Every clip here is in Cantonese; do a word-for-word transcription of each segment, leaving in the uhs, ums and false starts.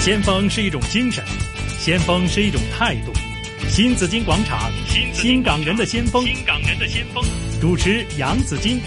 先鋒是一種精神，先鋒是一種態度。新紫荊廣場，新港人的先鋒，新港人的先鋒，主持楊紫荊。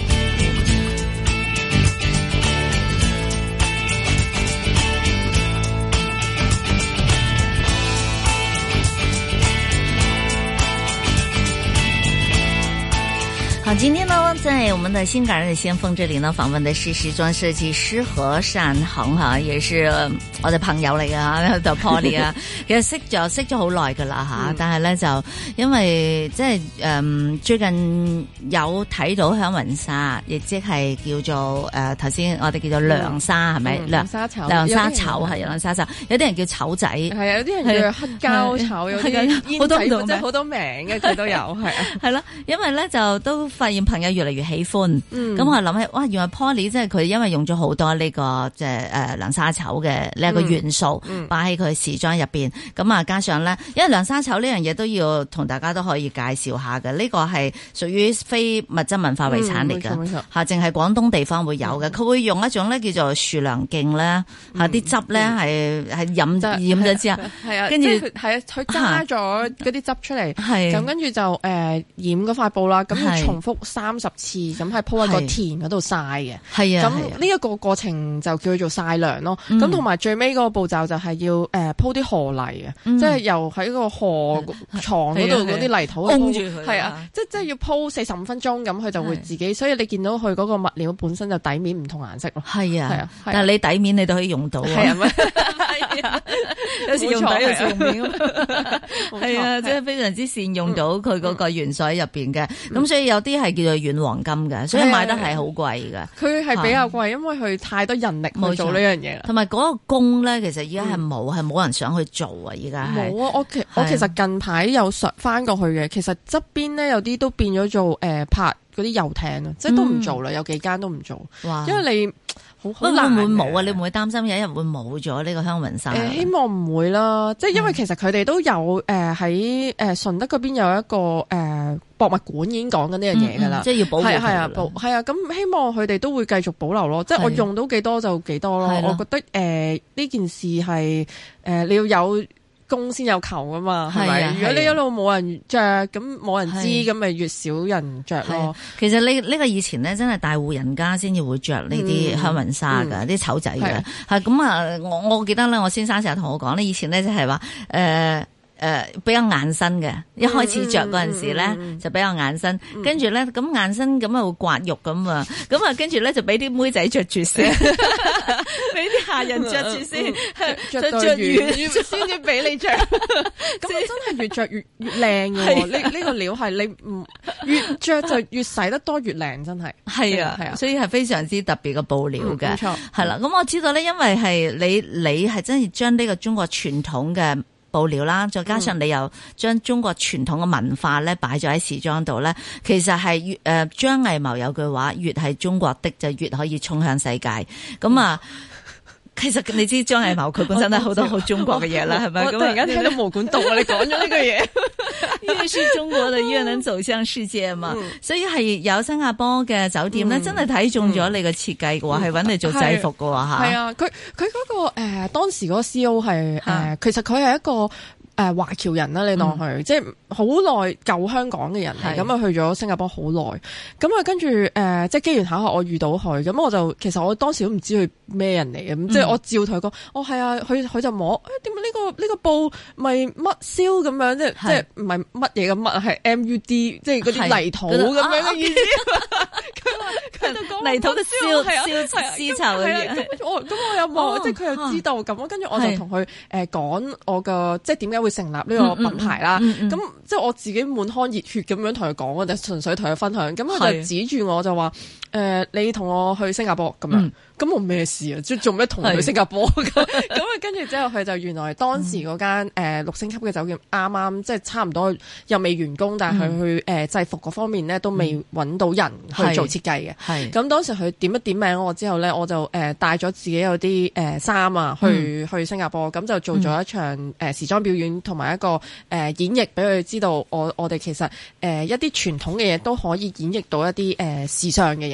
好，今天呢，在我們的新港人的先鋒這裏呢，訪問的是時裝設計師何善恒哈，也是我哋朋友嚟嘅吓，就 Polly 啊，其實識咗識咗好耐噶啦吓，但係咧就因為即係誒最近有睇到響雲紗，亦即係叫做誒頭先我哋叫做涼紗係咪？涼紗綢， 涼紗綢係涼紗綢，有啲人叫綢仔，係啊，有啲人叫黑膠綢，有啲煙仔，即係好多名嘅，佢都有係啊， 係啦，因為咧就都發現朋友越嚟越喜歡，咁、嗯、我諗起哇，原來 Polly 即係佢因為用咗好多呢、這個即係誒涼紗綢嘅呢一個元素擺喺佢時裝入邊，咁啊加上咧，因為涼紗綢呢樣嘢都要同大家都可以介紹下嘅，呢、這個係屬於非物質文化遺產嚟嘅吓，淨係廣東地方會有嘅，佢、嗯、會用一種咧叫做樹涼莖咧吓，啲汁咧係係飲染咗之後， 係啊， 跟住係啊，佢揸咗嗰啲汁出嚟，咁跟住就誒、呃、染嗰塊布啦，咁要重複三十次咁係鋪喺個田嗰度曬嘅，係啊，咁呢一個過程就叫做曬涼咯。咁同埋最尾嗰個步驟就係要誒鋪啲河泥嘅、嗯，即係由喺個河床嗰度嗰啲泥土鋪住佢，係啊，即係即係要鋪四十五分鐘，咁佢就會自己，所以你見到佢嗰個物料本身就底面唔同顏色咯。係啊，係啊，但係你底面你都可以用到，係啊，係啊，有時用底有時用面，係啊，即係非常之善用到佢嗰個元素喺入邊嘅。咁、嗯、所以有啲係叫做軟黃金嘅，所以買得係好貴嘅。佢係比較貴，因為佢太多人力去做呢樣嘢啦。同埋嗰個工咧，其實而家係冇，係、嗯、冇人想去做啊！而家冇啊！我其我其實近排有上翻過去嘅，其實側邊咧有啲都變咗做誒、呃、拍嗰啲遊艇啊，即係都唔做啦、嗯，有幾間都唔做。哇！因為你好好難會唔會冇啊？你會唔會擔心有一日會冇咗呢個香雲紗？誒、呃，希望唔會啦。即係因為其實佢哋都有誒喺誒順德嗰邊有一個誒。呃博物館已經講緊呢樣嘢㗎啦，即係要保護佢。係啊，保係啊，咁希望佢哋都會繼續保留咯。即係我用到幾多就幾多咯。我覺得誒呢、呃、件事係誒、呃、你要有供先有求㗎嘛，係咪？如果你一路冇人着，咁冇人知，咁咪越少人着咯。其實呢呢個以前咧，真係大戶人家先至會着呢啲香雲紗㗎，啲、嗯、綢仔嘅。係咁啊！我我記得咧，我先生成日同我講咧，以前咧就係話誒。呃誒、呃，比較硬身嘅，一開始着嗰陣時咧、嗯嗯、就比較硬身，嗯、跟住咧咁硬身咁啊會刮肉咁啊，咁啊跟住咧就俾啲妹仔着住先，俾啲下人着住先，着着完先至俾你着，咁真係越着越越靚嘅，呢呢、這個料係你唔越着就越洗得多越靚，真係係啊係啊，所以係非常之特別嘅布料嘅，冇錯係啦。咁我知道咧，因為係你你係真係將呢個中國傳統嘅布料啦，再加上你又將中國傳統嘅文化咧擺咗喺時裝度咧，其實係越誒張藝謀有句話，越係中國的就越可以衝向世界。咁啊，其實你知張藝謀佢本身都好多好中國嘅嘢啦，係咪？咁我突然間聽到毛管戙啊！你講咗呢句嘢，越是中國的越能走向世界嘛。嗯、所以係有新加坡嘅酒店咧、嗯，真係睇中咗你嘅設計嘅話，係、嗯、揾你做制服嘅話吓。係啊，佢佢嗰個誒、呃、當時嗰個 C E O 係誒、呃，其實佢係一個。誒華僑人啦，你當佢、嗯、即係好耐舊香港嘅人嚟，咁啊去咗新加坡好耐，咁啊跟住誒、呃、即係機緣巧合我遇到佢，咁我就其實我當時都唔知佢咩人嚟嘅，咁、嗯、即係我照同佢講，哦係啊，佢佢就摸，誒點解呢個呢、呢個布咪乜燒咁樣，即係即係唔係乜嘢嘅乜係 M U D， 即係嗰啲泥土咁樣嘅意思。佢話佢就講泥土嘅燒燒絲綢嘅嘢。咁我咁我有望，即係佢又知道咁，跟住我就同佢誒講我嘅即係點解會成立呢個品牌啦，咁、嗯嗯嗯、即係我自己滿腔熱血咁樣同佢講，我就純粹同佢分享，咁佢就指住我就話，誒、呃，你同我去新加坡咁樣，咁我咩事啊？即係做咩同佢去新加坡咁？咁啊，跟住之後佢就原來當時嗰間誒六星級嘅酒店啱啱即係差唔多又未完工，但係佢去誒、呃、制服嗰方面咧都未揾到人去做設計嘅。係咁當時佢點一點名我之後咧，我就誒帶咗自己有啲誒衫啊去、嗯、去新加坡，咁就做咗一場誒、呃、時裝表演。同埋一個誒、呃、演繹俾佢知道我，我我哋其實誒、呃、一啲傳統嘅嘢都可以演繹到一啲誒、呃、時尚嘅嘢。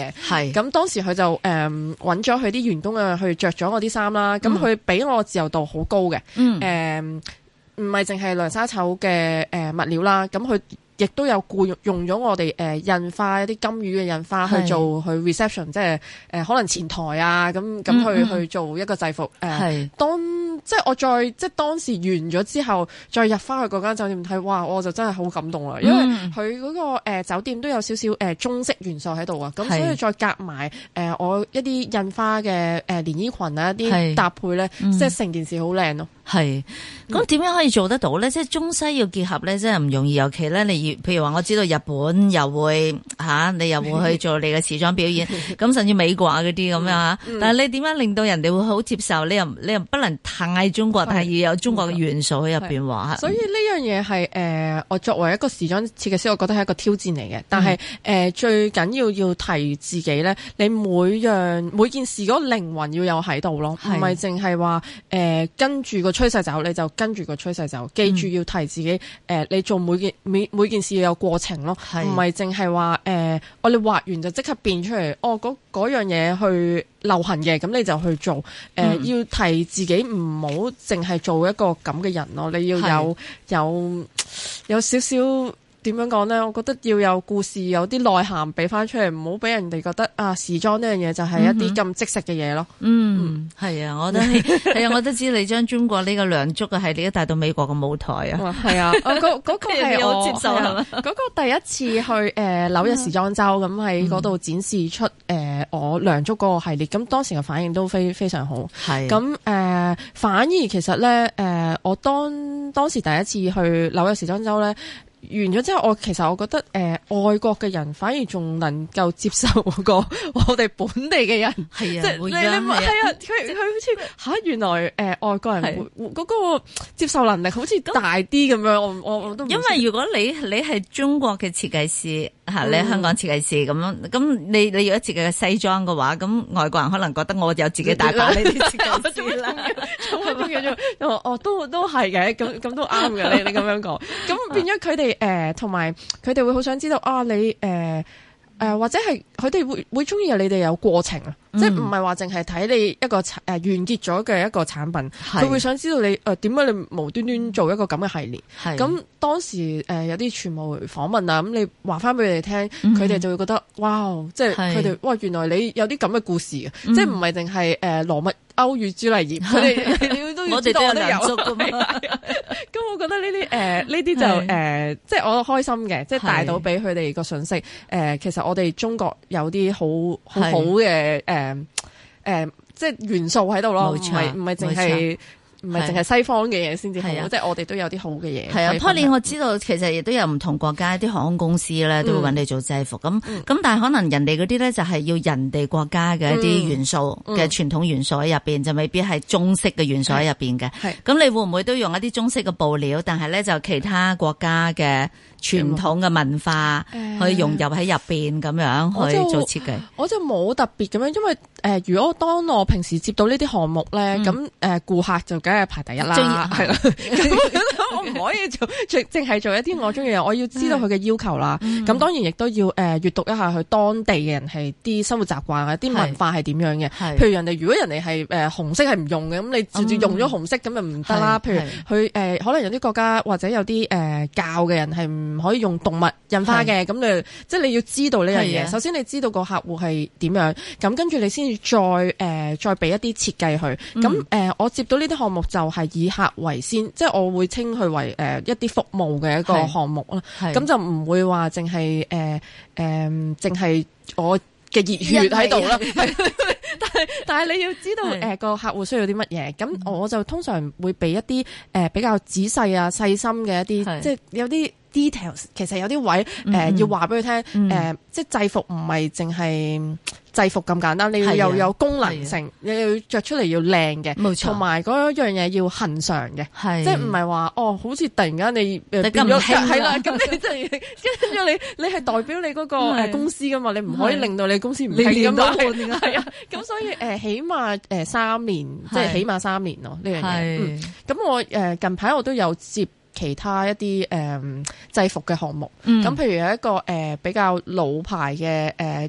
嘅。係咁當時佢就誒揾咗佢啲員工啊去着咗我啲衫啦。咁佢俾我自由度好高嘅。嗯。誒唔係淨係涼沙綢嘅誒物料啦。咁佢亦都有僱用用咗我哋誒、呃、印花一啲金魚嘅印花去做去 reception， 即係誒、呃、可能前台啊咁咁去、嗯嗯、去做一個制服誒。呃、當即係我再即係當時完咗之後，再入翻去嗰間酒店睇，哇！我就真係好感動啦，因為佢嗰、嗰個、呃、酒店都有少少誒中式元素喺度啊，咁所以再夾埋誒我一啲印花嘅誒連衣裙啊一啲搭配咧，即係成件事好靚咯。 係，咁點樣可以做得到咧？即係中西要結合咧，真係唔容易。尤其咧，你譬如話，我知道日本又會吓、啊，你又會去做你嘅時裝表演，咁甚至美國啊嗰啲咁樣吓。嗯、但係你點樣令到人哋會好接受？你又你又不能太中國，但係要有中國嘅元素喺入邊話。 所以呢樣嘢係誒，我作為一個時裝設計師，我覺得係一個挑戰嚟嘅。但係誒、嗯呃，最緊要要提自己咧，你每樣每件事嗰個靈魂要有喺度咯，唔係淨係話誒跟住個趨勢走，你就跟住個趨勢走。記住要提自己，誒、嗯呃，你做每件每每件事要有過程咯，唔係淨係話誒，我哋畫完就即刻變出嚟。哦，嗰嗰樣嘢去流行嘅，咁你就去做。誒、呃，嗯、要提自己唔好淨係做一個咁嘅人咯，你要有有有少少。點樣講咧？我覺得要有故事，有啲內涵俾翻出嚟，唔好俾人哋覺得啊，時裝呢樣嘢就係一啲咁即食嘅嘢咯。嗯，係、嗯、啊，我覺得係啊，我都知你將中國呢個梁祝嘅系列都帶到美國嘅舞台啊。係啊，嗰嗰、嗰個係我接受係嘛？嗰、嗰個第一次去誒、呃、紐約時裝周，咁喺嗰度展示出誒、呃、我梁祝嗰個系列，咁當時嘅反應都非非常好。係咁誒，反而其實咧誒、呃，我當當時第一次去紐約時裝周咧。完咗之後，我其實我覺得誒、呃，外國嘅人反而仲能夠接受過我哋本地嘅人，係啊，即係你你係啊，佢佢好似吓，原來誒、呃、外國人會嗰個接受能力好似大啲咁樣，我我我都因為如果你你係中國嘅設計師吓，嗯、你係香港設計師咁樣，咁你你如果設計嘅西裝嘅話，咁外國人可能覺得我有自己大把呢啲設計師啦，咁哦都都係嘅，咁咁都啱嘅，你你咁樣講，咁變咗佢哋。誒，同埋佢哋會好想知道啊，你誒誒、呃呃，或者係佢哋會會中意你哋有過程啊，嗯、即係唔係話淨係睇你一個誒、呃、完結咗嘅一個產品，佢是會想知道你誒點解你無端端做一個咁嘅系列。咁是當時誒、呃、有啲傳媒訪問啊，咁你話翻俾佢哋聽，佢哋、嗯、就會覺得哇，即係佢哋哇，原來你有啲咁嘅故事啊，嗯、即係唔係淨係誒羅密歐與朱麗葉，佢哋你都要知道我都有噶嘛。咁我覺得呢啲誒呢啲就誒，即係、呃就是、我開心嘅，即係帶到俾佢哋個信息。誒、呃，其實我哋中國有啲好好好嘅誒誒，即係元素喺度咯，唔係唔係淨係。唔係淨係西方嘅嘢先至好，即係我哋都有啲好嘅嘢。係啊 Polly 我知道其實亦都有唔同國家啲航空公司咧，都會揾你做制服。咁咁、嗯，但係可能人哋嗰啲咧就係要人哋國家嘅一啲元素嘅傳、嗯、統元素喺入邊，就未必係中式嘅元素喺入邊嘅。係咁，你會唔會都用一啲中式嘅布料，但係咧就其他國家嘅傳統嘅文化去融入喺入邊咁樣去做設計？我就冇特別咁樣，因為誒、呃，如果當我平時接到呢啲項目咧，咁誒顧客就梗係排第一啦，係啦。我唔可以做淨淨係做一啲我中意嘅嘢，我要知道佢嘅要求啦。咁、嗯、當然亦都要誒閱讀一下佢當地嘅人係啲生活習慣啊，啲文化係點樣嘅。譬如人哋如果人哋係誒紅色係唔用嘅，咁你直接用咗紅色咁就唔得啦。譬如佢誒、呃、可能有啲國家或者有啲誒、呃、教嘅人係唔可以用動物印花嘅，咁你即係你要知道呢樣嘢。首先你知道個客戶係點樣，咁跟住你先至再誒、呃、再俾一啲設計佢。咁誒、嗯呃、我接到呢啲項目就係以客為先，即係我會稱佢為誒、呃、一啲服務嘅一個項目啦。咁就唔會話淨係誒誒淨係我嘅熱血喺度啦。但係但係你要知道誒個、呃、客戶需要啲乜嘢，咁我就通常會俾一啲誒、呃、比較仔細啊細心嘅一啲，即係有啲 details。其實有啲位誒、呃嗯、要話俾佢聽，誒、嗯呃、即係制服唔係淨係制服咁簡單，你要又有功能性，你要着出嚟要靚嘅，冇錯，同埋嗰樣嘢要恆常嘅，即係唔係話哦，好似突然間你變咗係啦，咁你就跟住你你係代表你嗰個誒公司噶嘛，你唔可以令到你公司唔興噶嘛，係啊，咁所以誒起碼誒三年，即係起碼三年咯呢樣嘢。咁我誒近排我都有接其他一啲誒制服嘅項目，咁譬如有一個誒比較老牌嘅誒。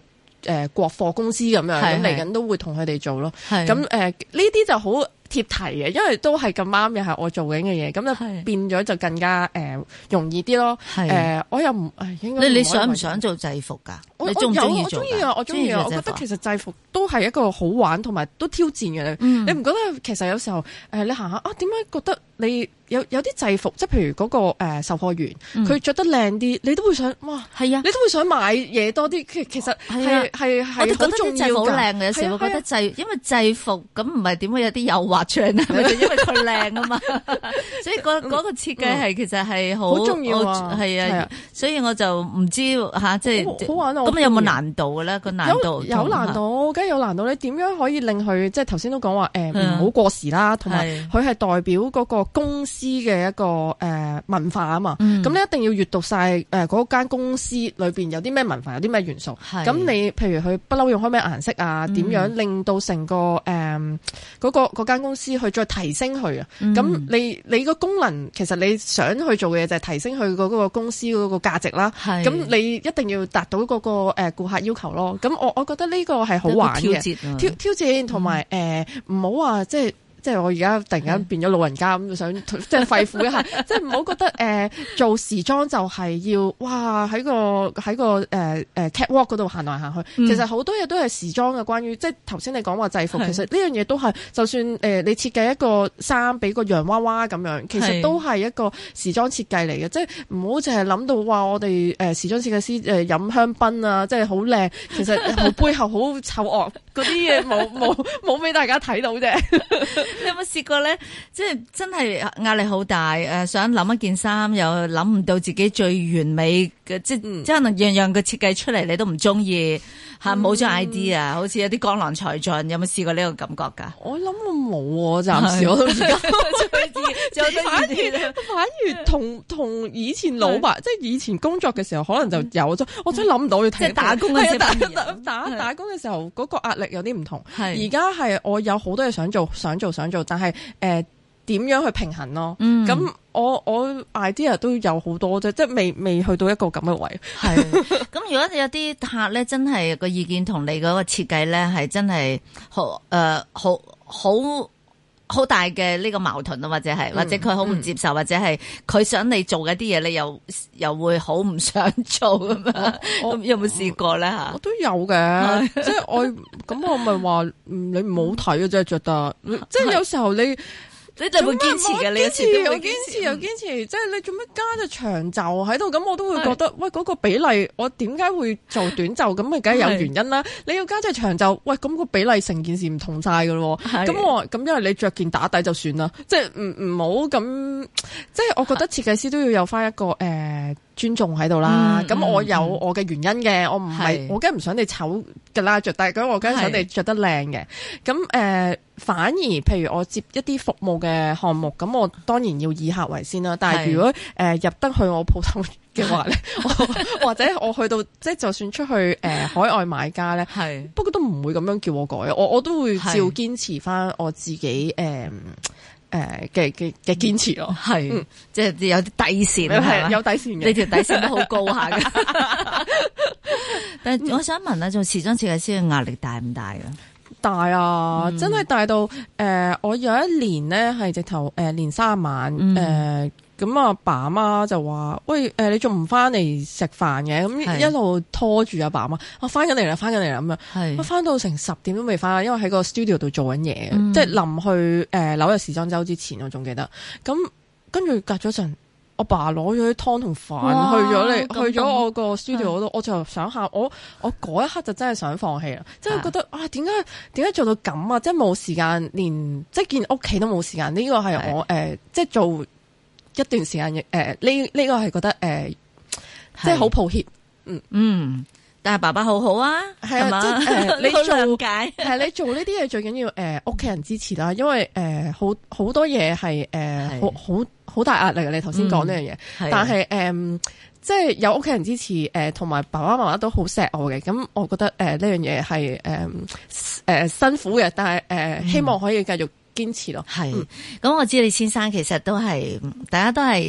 誒國貨公司咁樣，咁嚟緊都會同佢哋做咯。咁誒呢啲就好貼題嘅，因為都係咁啱又係我做緊嘅嘢，咁就變咗就更加誒、呃、容易啲咯。誒、呃，我又唔誒應該你你想唔想做制服㗎？你中唔中意做？ 我中意啊！我中意啊！我覺得其實制服都係一個好玩同埋都挑戰嘅、嗯。你唔覺得其實有時候誒、呃、你行下啊，點解覺得你有有啲制服，即係譬如嗰、那個誒、呃、售貨員，佢、嗯、着得靚啲，你都會想哇，係啊，你都會想買嘢多啲。其其實係係係我覺得啲制服好靚嘅，有時我覺得制，因為制服咁唔係點會有啲誘惑出嚟啊？咪就因為佢靚啊嘛，所以嗰嗰、那個設計係其實係好重要啊，係啊，所以我就唔知吓，即係好玩咯。咁有冇難度嘅咧？個難度有，有難度，梗係有難度。你點樣可以令佢即係頭先都講話誒唔好過時啦，同埋佢係代表嗰個公司嘅一個誒、呃、文化啊嘛。咁、嗯、你一定要閱讀晒誒嗰間公司裏邊有啲咩文化，有啲咩元素。咁你譬如佢不嬲用開咩顏色啊？點、嗯、樣令到成個誒嗰、呃嗰個嗰間公司去再提升佢啊？咁、嗯、你你個功能其實你想去做嘅嘢就係提升佢嗰個公司嗰個價值啦。咁你一定要達到嗰、嗰個誒顧客要求咯，咁我我覺得呢個係好玩嘅挑戰，挑挑戰同埋誒唔好話即係即係我而家突然間變咗老人家咁，想即係肺腑一下，即係唔好覺得誒、呃、做時裝就係要哇喺個喺個誒誒 catwalk 嗰度行來行去，嗯、其實好多嘢都係時裝嘅，關於即係頭先你講話制服，其實呢樣嘢都係就算誒、呃、你設計一個衫俾個洋娃娃咁樣，其實都係一個時裝設計嚟嘅，即係唔好淨係諗到話我哋誒時裝設計師誒飲香檳啊，即係好靚，其實好背後好醜惡嗰啲嘢冇冇冇俾大家睇到啫。你有冇試過咧？即係真係壓力好大，誒，想諗一件衫，又諗唔到自己最完美嘅，即係、嗯、即係可能樣樣嘅設計出嚟，你都唔中意吓，冇咗 idea，好似有啲江郎才盡。有冇試過呢個感覺噶？我諗我冇，暫時我都而家就反而反而同同以前老闆，即係以前工作嘅時候，可能就有咗、嗯，我真係諗唔到要睇。即係打工嘅時候，打打打工嘅時候，嗰個壓力有啲唔同。而家係我有好多嘢想做，想做想做，但係誒點樣去平衡咯？咁、嗯、我我 idea 都有好多啫，即係未未去到一個咁嘅位。係咁，如果你有啲客咧，真係個意見同你嗰個設計咧，係真係好誒，好好好大嘅呢個矛盾啊，或者係、嗯、或者佢好唔接受，嗯、或者係佢想你做嘅啲嘢，你又又會好唔想做咁樣。咁有冇試過咧吓？我都有嘅，即係我咁我咪話你唔好睇啊，真係着得，即係有時候你。你就會堅持嘅，你堅持又堅持又堅持，即係你做乜加隻長袖喺度？咁我都會覺得，喂，嗰、嗰個比例，我點解會做短袖？咁咪梗係有原因啦。你要加隻長袖，喂，咁、嗰個比例成件事唔同晒噶咯。咁我咁因為你着件打底就算啦，即係唔唔好咁，即係我覺得設計師都要有翻一個誒。呃尊重喺度啦，咁、嗯、我有我嘅原因嘅、嗯，我唔係我梗係唔想你醜㗎啦着，但係咁我梗係想你着得靚嘅。咁誒、呃，反而譬如我接一啲服務嘅項目，咁我當然要以客為先啦。但係如果誒、呃、入得去我鋪頭嘅話咧，或者我去到即係就算出去誒、呃、海外買家咧，不過都唔會咁樣叫我改，我我都會照堅持翻我自己誒。呃誒嘅嘅嘅堅持咯，係、嗯，即係有啲底線，係有底線嘅，你條底線都好高下嘅。但係我想問啊，做時裝設計師嘅壓力大唔大啊？大啊，嗯、真係大到誒、呃，我有一年咧係直頭誒連三晚誒。嗯呃咁阿爸阿媽就話：喂，誒、呃，你仲唔翻嚟食飯嘅？咁一路拖住阿爸阿媽，我翻緊嚟啦，翻緊嚟啦咁樣。我翻到成十點都未翻，因為喺個 studio 度做緊嘢、嗯，即係臨去誒紐約時裝周之前，我仲記得。咁跟住隔咗陣，我爸攞咗啲湯同飯去咗嚟，去咗我個 studio 嗰度，我就想下，我我嗰一刻就真係想放棄啦，即係覺得啊，點解點解做到咁啊？即係冇時間，連即係見屋企都冇時間。呢個係我誒、呃，即係做。一段時間，誒、呃，呢呢、這個係覺得誒、呃，即係好抱歉，嗯嗯，但係爸爸好好啊，係啊，即係、呃、你做解係你做呢啲嘢最緊要誒屋企人支持啦，因為誒、呃、好好多嘢係誒好好好大壓力嘅，你頭先講呢樣嘢，但係誒、呃、即係有屋企人支持，誒同埋爸爸媽媽都好錫我嘅，咁我覺得誒呢樣嘢係誒誒辛苦嘅，但係誒、呃嗯、希望可以繼續堅持咯。係，咁、嗯、我知你先生其實都係，大家都係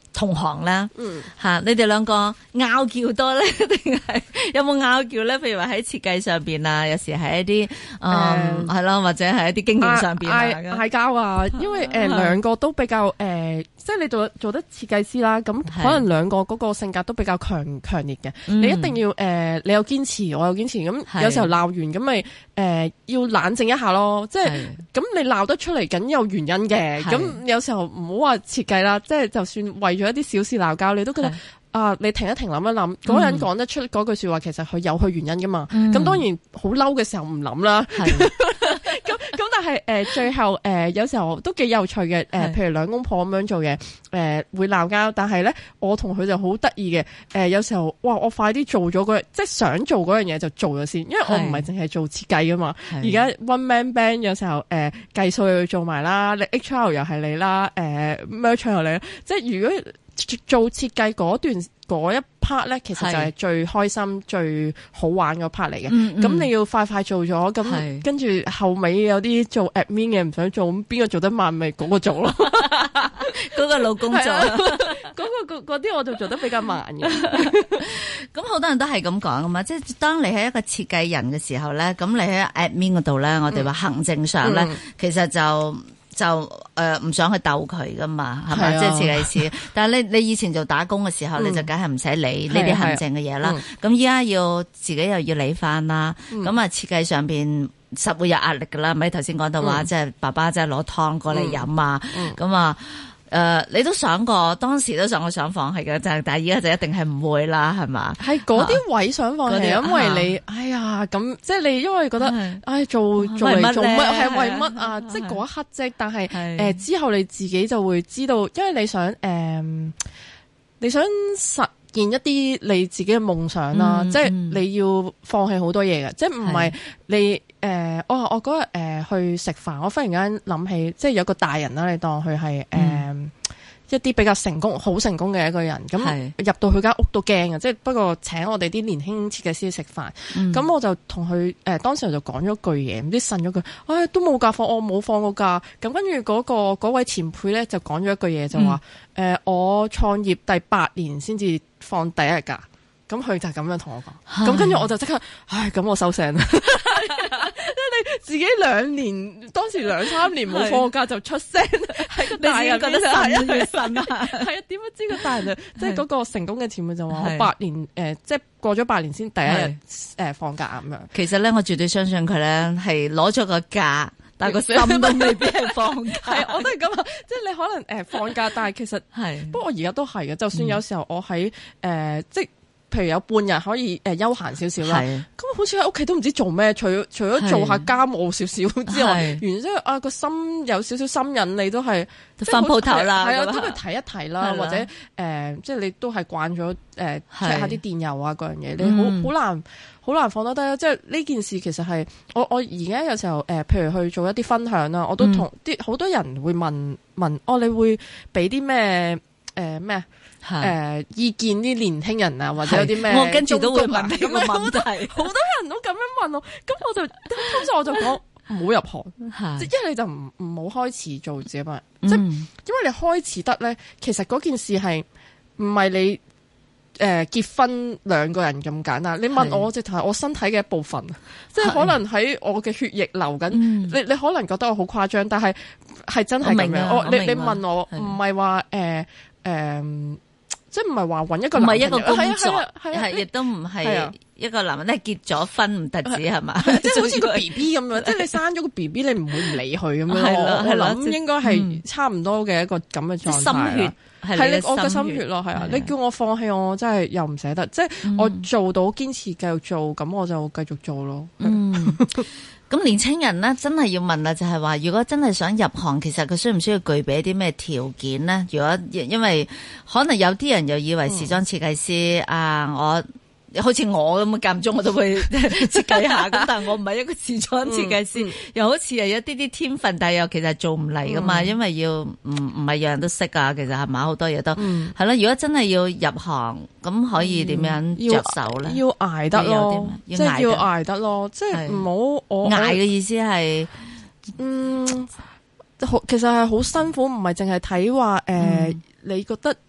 同行啦，嗯吓，你哋兩個拗撬多咧，定係有冇拗撬咧？譬如話喺設計上邊啊，有時係一啲誒係咯，或者係一啲經驗上邊嗌嗌交啊，因為誒兩、呃、個都比較誒、呃，即係你做做得設計師啦，咁可能兩個嗰個性格都比較強強烈嘅，你一定要誒、呃，你有堅持，我有堅持，咁有時候鬧完咁咪誒要冷靜一下咯，即係咁你鬧得出嚟，梗有原因嘅，咁有時候唔好話設計啦，即係就算為咗一啲小事鬧交，你都覺得啊，你停一停，諗一諗，嗰個人講得出嗰句說話，其實佢有佢原因噶嘛。咁、嗯、當然好嬲嘅時候唔諗啦。咁咁但係誒、呃、最後誒、呃、有時候都幾有趣嘅。誒、呃、譬如兩公婆咁樣做嘢，誒、呃、會鬧交，但係咧我同佢就好得意嘅。誒、呃、有時候哇，我快啲做咗嗰，即係想做嗰樣嘢就做咗先，因為我唔係淨係做設計噶嘛。而家 one man band 有時候誒計數又要做埋啦，你 H R 又係你啦，誒 merchant 又你啦，即係如果。做設計嗰段嗰一 part 咧，其實就係最開心、最好玩嗰 part 嚟嘅。咁、嗯嗯、你要快快做咗，咁跟住後尾有啲做 admin 嘅唔想做，咁邊個做得慢咪嗰個做咯。 嗰個老公做， 嗰、嗰個嗰啲我就做得比較慢嘅。 咁好多人都係咁講噶嘛，即係當你係一個設計人嘅時候咧，咁你喺 admin 嗰度咧，我哋話行政上咧、嗯，其實就。就誒唔、呃、想去鬥佢噶嘛，係咪？即係設計師。但係你你以前做打工嘅時候，嗯、你就梗係唔使理呢啲行政嘅嘢啦。咁依家要自己又要理翻啦。咁、嗯、啊設計上邊實會有壓力噶啦。咪頭先講到話，即、嗯、係爸爸即係攞湯過嚟飲啊。咁、嗯、啊。誒、呃，你都想過，當時都想過想放棄嘅，就係但係而家就一定係唔會啦，係嘛？係嗰啲位想放棄，因為你，哎呀，咁即係你，因為覺得，唉，做做嚟做乜，係為乜啊？即係嗰一刻啫，但係誒、呃、之後你自己就會知道，因為你想誒、呃，你想實現一啲你自己嘅夢想啦，嗯、即係你要放棄好多嘢嘅，即係唔係你。誒、呃，我我嗰日誒去食飯，我忽然間諗起，即係有個大人啦，你當佢係誒一啲比較成功、好成功嘅一個人，咁入到佢間屋都驚嘅，即係不過請我哋啲年輕設計師食飯，咁、嗯、我就同佢誒當時就講咗句嘢，唔知呻咗句，唉、哎、都冇假放，我冇放過假，咁跟住嗰個嗰位前輩咧就講咗一句嘢，就話誒、嗯呃、我創業第八年先至放第一日假。咁佢就咁樣同我講，咁跟住我就即刻，唉，咁我收聲啦。即係你自己兩年，當時兩三年冇放假就出聲，係個大人覺得神啊神啊，係啊，點樣知個大人即係嗰個成功嘅前輩就話我八年誒、呃，即係過咗八年先第一日誒放假咁樣。其實咧，我絕對相信佢咧係攞咗個假。但係個心都未必係放假，係我都係咁啊！即係你可能誒、呃、放假，但係其實係，不過我而家都係嘅。就算有時候我喺誒、呃，即係譬如有半日可以誒、呃、休閒少少啦，咁好似喺屋企都唔知做咩，除咗除咗做下家務少少之外，原之啊個心有少少心癮，你都係翻鋪頭啦，係啊，都係睇一睇啦，或者誒、呃，即係你都係慣咗誒 check 下啲電郵啊嗰樣嘢，你好好難。好難放得低啊！即係呢件事其實係我我而家有時候誒、呃，譬如去做一啲分享啦，我都同啲好多人會問問，哦，你會俾啲咩誒咩誒意見啲年輕人啊，或者有啲咩？我跟住都會問呢個問題，好多人都咁樣問我，咁我就通常我就講唔好入行，即係一係你就唔唔好開始做自己嘛，即係因為你開始得咧，其實嗰件事係唔係你。誒、呃，結婚兩個人咁簡單，你問我直頭係我身體嘅一部分，即係可能喺我嘅血液流緊、嗯。你你可能覺得我好誇張，但係係真係咁樣。我，我你你問我唔係話誒誒，即係唔係話搵一個男人，唔係一個工作，係亦都唔係一個男人，咧結咗婚唔得止係嘛？即係好似個 B B 咁樣，即係你生咗個 B B， 你唔會唔理佢咁樣。我諗應該係差唔多嘅一個咁嘅狀態。心血。係你我嘅心血咯，係啊！你叫我放棄，我真係又唔捨得。即係我做到堅持繼續做，咁我就繼續做咯。嗯，咁年青人咧，真係要問啦，就係話，如果真係想入行，其實佢需唔需要具備一啲咩條件咧？如果因為可能有啲人又以為時裝設計師、嗯、啊，我。好似我咁間唔中我都會設計下，咁但係我唔係一個時裝設計師，嗯嗯、又好似係有啲啲天分，但係又其實做唔嚟噶嘛，嗯、因為要唔唔係樣樣都識啊，其實係嘛，好多嘢都係啦、嗯。如果真係要入行，咁可以點樣着手咧？要捱得咯，即係要捱得咯，即係唔好我捱嘅意思係，嗯，其實係好辛苦，唔係淨係睇話誒，你覺得。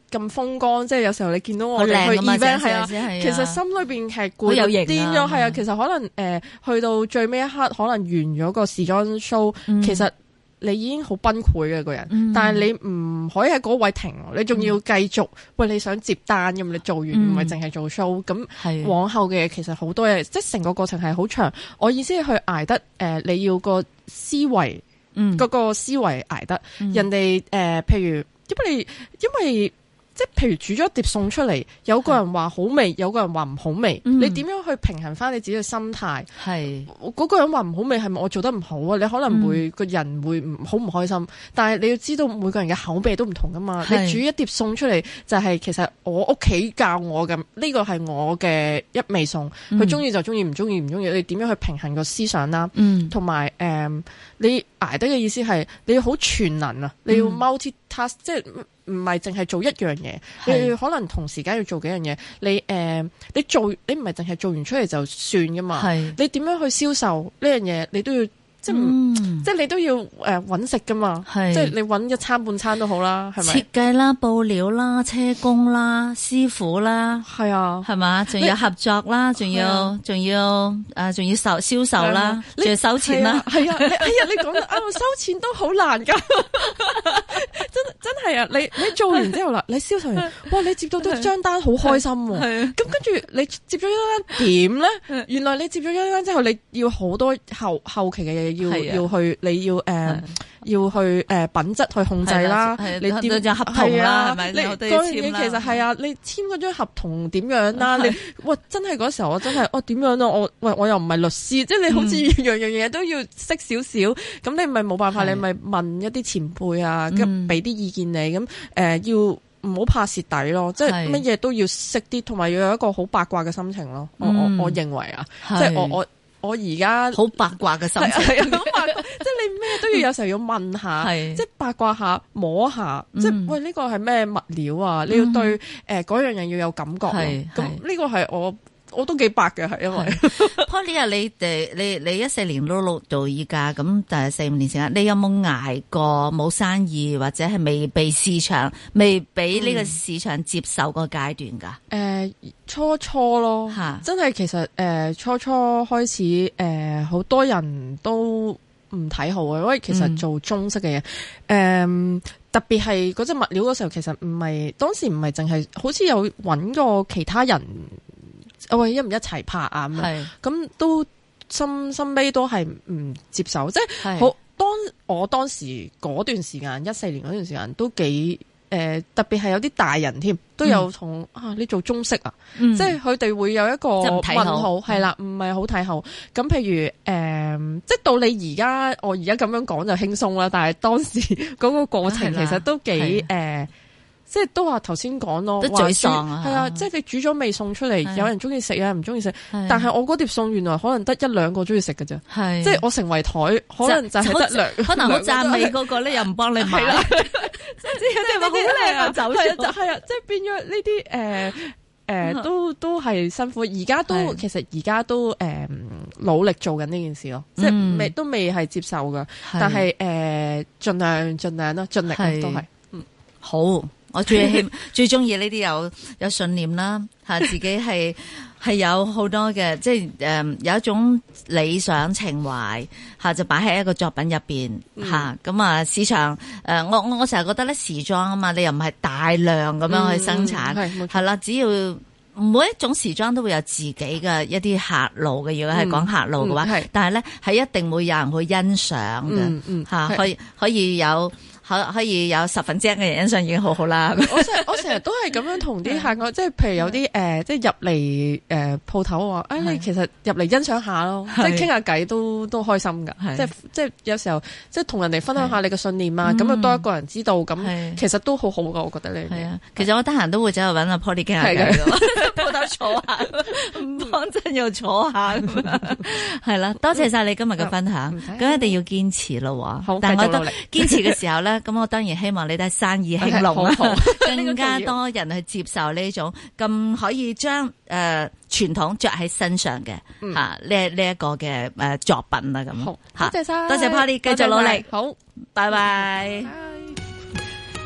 咁風光，即係有時候你見到我哋去 event 係啊，其實心裏邊係攰到癲咗，係啊，其實可能誒、呃、去到最尾一刻，可能完咗個時裝 show，、嗯、其實你已經好崩潰嘅個人，嗯、但係你唔可以喺嗰位停，你仲要繼續、嗯、喂，你想接單咁，你做完唔係淨係做 show，咁、嗯、往後嘅嘢其實好多嘢，即係成個過程係好長。我意思係去捱得誒、呃，你要個思維，嗰、嗯、個思維捱得，嗯、人哋誒、呃，譬如因為因為。即係譬如煮咗一碟餸出嚟，有個人話好味，有個人話唔好味，嗯、你點樣去平衡翻你自己嘅心態？係嗰、嗰個人話唔好味，係咪我做得唔好啊？你可能會個、嗯、人會唔好唔開心，但係你要知道每個人嘅口味都唔同噶嘛。你煮一碟餸出嚟，就係、是、其實我屋企教我嘅，呢個係我嘅一味餸，佢中意就中意，唔中意唔中意。你點樣去平衡個思想啦？同埋誒，你捱得嘅意思係你要好全能啊，你要 multi task，、嗯、即係。唔係淨係做一樣嘢，你可能同時間要做幾樣嘢。你誒、呃，你做你唔係淨係做完出嚟就算噶嘛？你點樣去銷售呢樣嘢？你都要。即係、嗯、即係你都要誒搵食噶嘛，即係你搵一餐半餐都好啦，係咪？ 設計啦、布料啦、車工啦、師傅啦， 係啊， 係嘛？仲有合作啦，仲要仲要誒，仲要售銷售啦，仲要收錢啦， 係啊，係啊，哎呀，你講得啱，收錢都好難噶，真真係啊！你你做完之後啦，你銷售完，哇！你接到到張單好開心，咁跟住你接咗一單點咧？原來你接咗一單之後，你要好多後後期嘅嘢。要要去，你要誒、呃、要去誒、呃、品質去控制啦，你點就合同啦，係咪？你嗰樣嘢其實係啊，你簽嗰張合同點樣啦？你哇真係嗰時候我真係哦點樣啊？我喂我又唔係律師，即係你好似樣樣嘢都要識少少，咁、嗯、你咪冇辦法，你咪問一啲前輩啊，咁俾啲意見你，咁誒、呃、要唔好怕蝕底咯，即係乜嘢都要識啲，同埋要有一個好八卦嘅心情咯。我我我認為啊，即係我我。我而家好八卦嘅心情， 係啊，好八卦，即係你咩都要有時候要問下，即係八卦下摸下，嗯、即係喂呢個係咩物料啊？嗯、你要對誒嗰、呃、樣嘢要有感覺，咁呢個係我。我都幾白嘅，係因為 Polly 啊，你哋你你一四年碌碌到依家，咁但係四五年時間，你有冇捱過冇生意，或者係未被市場未俾呢個市場接受個階段噶？誒、 嗯呃，初初咯，吓，真係其實誒、呃、初初開始誒，好、呃、多人都唔睇好嘅，因為其實做中式嘅嘢，誒、嗯呃、特別係嗰隻物料嗰時候，其實唔係當時唔係淨係，好似有搵過其他人。喂，一唔一齊拍啊？咁咁都心心尾都係唔接受，即係好當我當時嗰段時間，一四年嗰段時間都幾誒、呃，特別係有啲大人添，都有同、嗯、啊，你做中式啊，嗯、即係佢哋會有一個問號，係啦，唔係好睇好。咁譬如誒、呃，即係到你而家，我而家咁樣講就輕鬆啦，但係當時嗰個過程其實都幾誒。即係都話頭先講咯， 都沮喪啊！ 係啊，即係你煮咗味餸出嚟，有人中意食，有人唔中意食。但係我嗰碟餸原來可能得一兩個中意食嘅啫。係，即係我成為台，可能就係得兩， 可能好讚美嗰個咧，又唔幫你買。即係有啲話好靚啊，走出就係啊，即係變咗呢啲誒誒，都都係辛苦。而家都其實而家都誒努力做緊呢件事咯，即係未都未係接受噶，但係誒盡量盡量咯，盡力都係嗯好。我最希最中意呢啲有有信念啦，吓自己係係有好多嘅，即係誒、呃、有一種理想情懷吓，就擺喺一個作品入邊吓。咁、嗯、啊市場誒、呃，我我我成日覺得咧時裝啊嘛，你又唔係大量咁樣去生產，係係啦，只要每一種時裝都會有自己嘅一啲客路嘅，如果係講客路嘅話，嗯嗯、但係咧係一定會有人去欣賞嘅，吓、嗯嗯、可以可以有。可可以有十分之一嘅人欣賞已經好好啦。 我成我成日都係咁樣同啲客講，即係譬如有啲誒、呃，即係入嚟誒鋪頭話，誒你其實入嚟欣賞下咯，即係傾下偈都都開心噶。即係即係有時候即係同人哋分享下你嘅信念啊，咁啊多一個人知道，咁其實都好好噶。我覺得你係啊， 其實我得閒都會走去搵阿 Polly 傾下偈嘅，鋪頭坐下，唔幫襯又坐下咁樣。係啦，多謝晒你今日嘅分享，咁一定要堅持咯。好，但係我覺得堅持嘅時候咧。咁我當然希望你都係生意興隆啦，更加多人去接受呢種咁可以將誒傳統着喺身上嘅吓呢呢一個嘅誒作品啦咁。好，多謝晒，多謝 Polly，繼續努力，好，拜拜。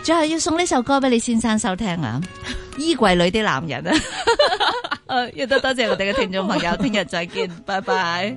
最後要送呢首歌俾你先生收聽啊，衣櫃裏的男人啊。誒，亦都多謝我哋嘅聽眾朋友，聽日再見，拜拜。